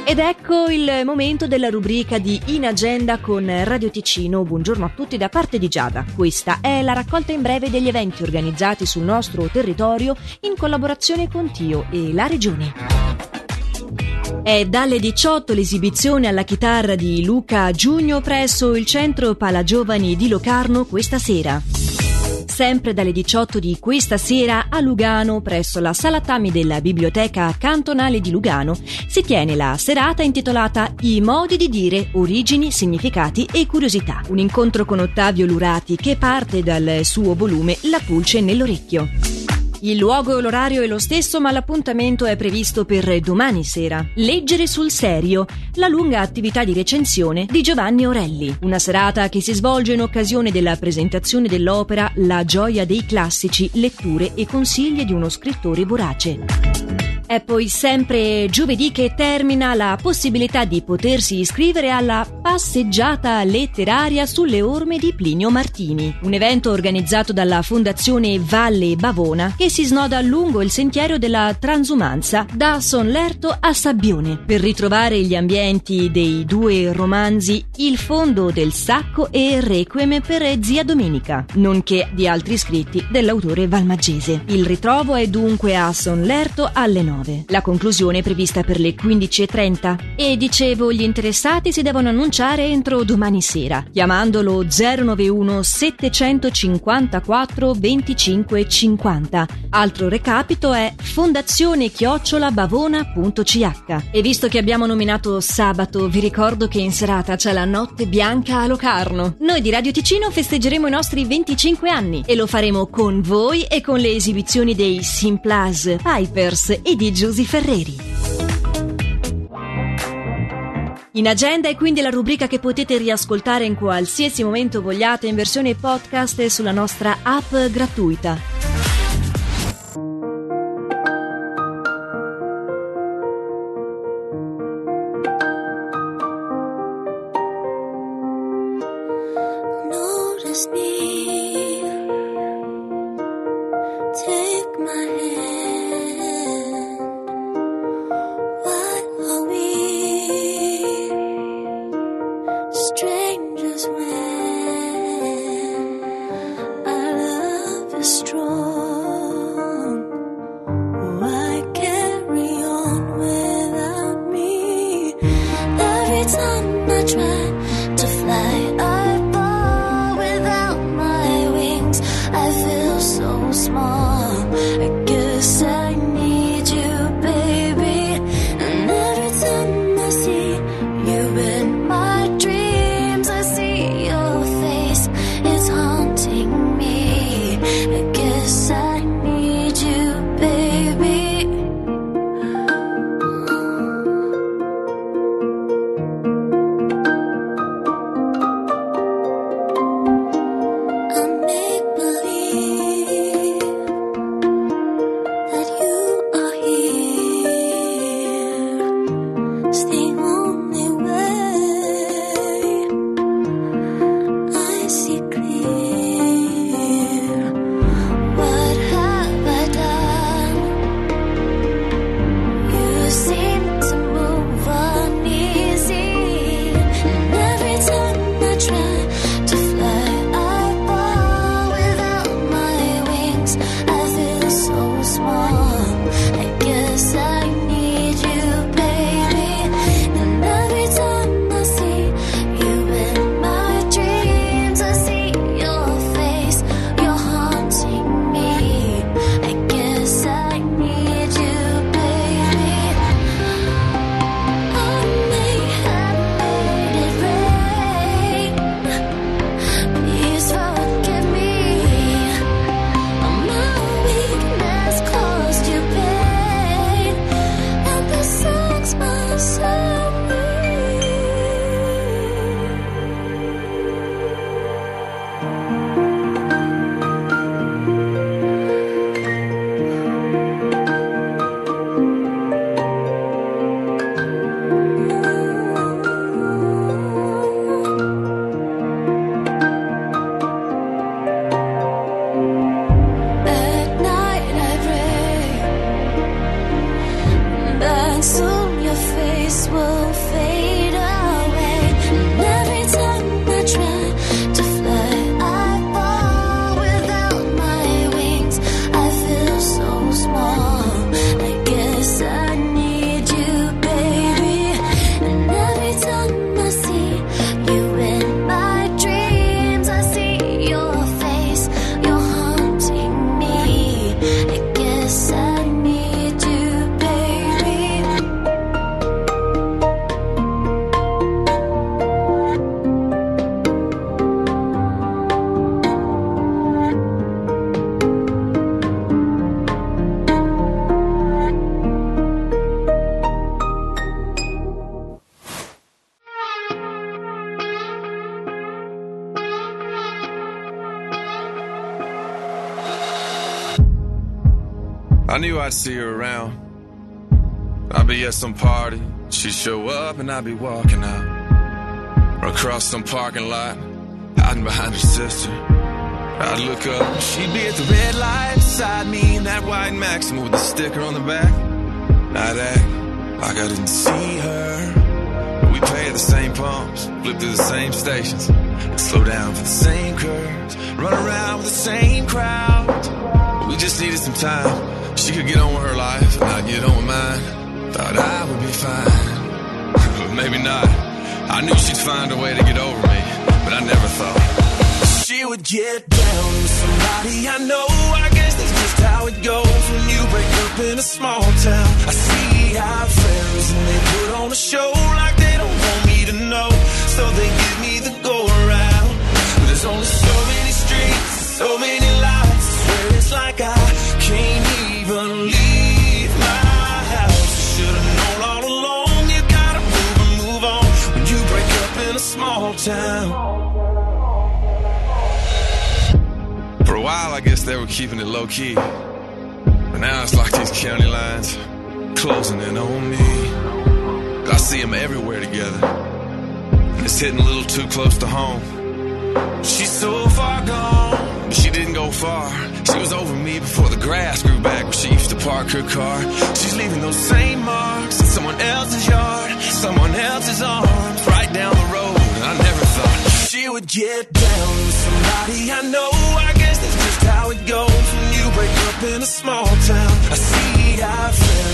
Ed ecco il momento della rubrica di In Agenda con Radio Ticino. Buongiorno a tutti da parte di Giada. Questa è la raccolta in breve degli eventi organizzati sul nostro territorio in collaborazione con Tio e la Regione. È dalle 18 l'esibizione alla chitarra di Luca Giugno presso il Centro Palagiovani di Locarno questa sera. Sempre dalle 18 di questa sera a Lugano, presso la Sala Tammi della Biblioteca Cantonale di Lugano, si tiene la serata intitolata I modi di dire, origini, significati e curiosità. Un incontro con Ottavio Lurati che parte dal suo volume La pulce nell'orecchio. Il luogo e l'orario è lo stesso, ma l'appuntamento è previsto per domani sera. Leggere sul serio, la lunga attività di recensione di Giovanni Orelli. Una serata che si svolge in occasione della presentazione dell'opera La gioia dei classici, letture e consigli di uno scrittore vorace. È poi sempre giovedì che termina la possibilità di potersi iscrivere alla passeggiata letteraria sulle orme di Plinio Martini, un evento organizzato dalla Fondazione Valle Bavona che si snoda lungo il sentiero della transumanza da Sonlerto a Sabbione per ritrovare gli ambienti dei due romanzi Il fondo del sacco e Requiem per zia Domenica, nonché di altri scritti dell'autore valmaggese. Il ritrovo è dunque a Sonlerto alle 9. La conclusione è prevista per le 15:30 e dicevo gli interessati si devono annunciare entro domani sera chiamandolo 091 754 25 50. Altro recapito è fondazione@bavona.ch. E visto che abbiamo nominato sabato, vi ricordo che in serata c'è la Notte Bianca a Locarno. Noi di Radio Ticino festeggeremo i nostri 25 anni e lo faremo con voi e con le esibizioni dei Simplaz, Pipers e di Giusy Ferreri. In Agenda è quindi la rubrica che potete riascoltare in qualsiasi momento vogliate in versione podcast e sulla nostra app gratuita. Notice me, take my hand. Why are we strangers when our love is strong? Why carry on without me? Every time I try to fly, I fall without my wings. I feel so small. I guess I need you, baby. And every time I see you in my dreams, I see your face. It's haunting me. I guess I need you, baby. I make believe that you are here. It's the only way I see clear. What have I done? You seem to move uneasy, and every time I try to fly, I fall without my wings. I feel so small. I guess I need you, baby. And every time I see you in my dreams, I see your face. You're haunting me. I guess I need you, baby. I may have made it rain. Please forgive me. My weakness caused you pain, and the songs must serve me. At night I pray, and soon you'll face will fade away. And every time I try to fly, I fall without my wings. I feel so small. I guess I need you, baby. And every time I see you in my dreams, I see your face, you're haunting me. I guess I need you, baby. I knew I'd see her around. I'd be at some party, she'd show up and I'd be walking out. Or across some parking lot, hiding behind her sister. I'd look up, she'd be at the red light beside me in that white Maxima with the sticker on the back. I'd act like I didn't see her. But we pay at the same pumps, flip through the same stations, slow down for the same curves, run around with the same crowd. We just needed some time. She could get on with her life and I'd get on with mine. Thought I would be fine, but maybe not. I knew she'd find a way to get over me, but I never thought she would get down with somebody I know. I guess that's just how it goes when you break up in a small town. I see our friends and they put on a show like they don't want me to know, so they give me the go around. But there's only so many streets, so many lights. I swear it's like I can't even leave my house. Should've known all along, you gotta move and move on when you break up in a small town. For a while I guess they were keeping it low key, but now it's like these county lines closing in on me. I see them everywhere together, and it's hitting a little too close to home. She's so far gone, but she didn't go far. She was over me before the grass grew back where she used to park her car. She's leaving those same marks in someone else's yard, someone else's arms, right down the road. And I never thought she would get down with somebody I know. I guess that's just how it goes when you break up in a small town. I see our friends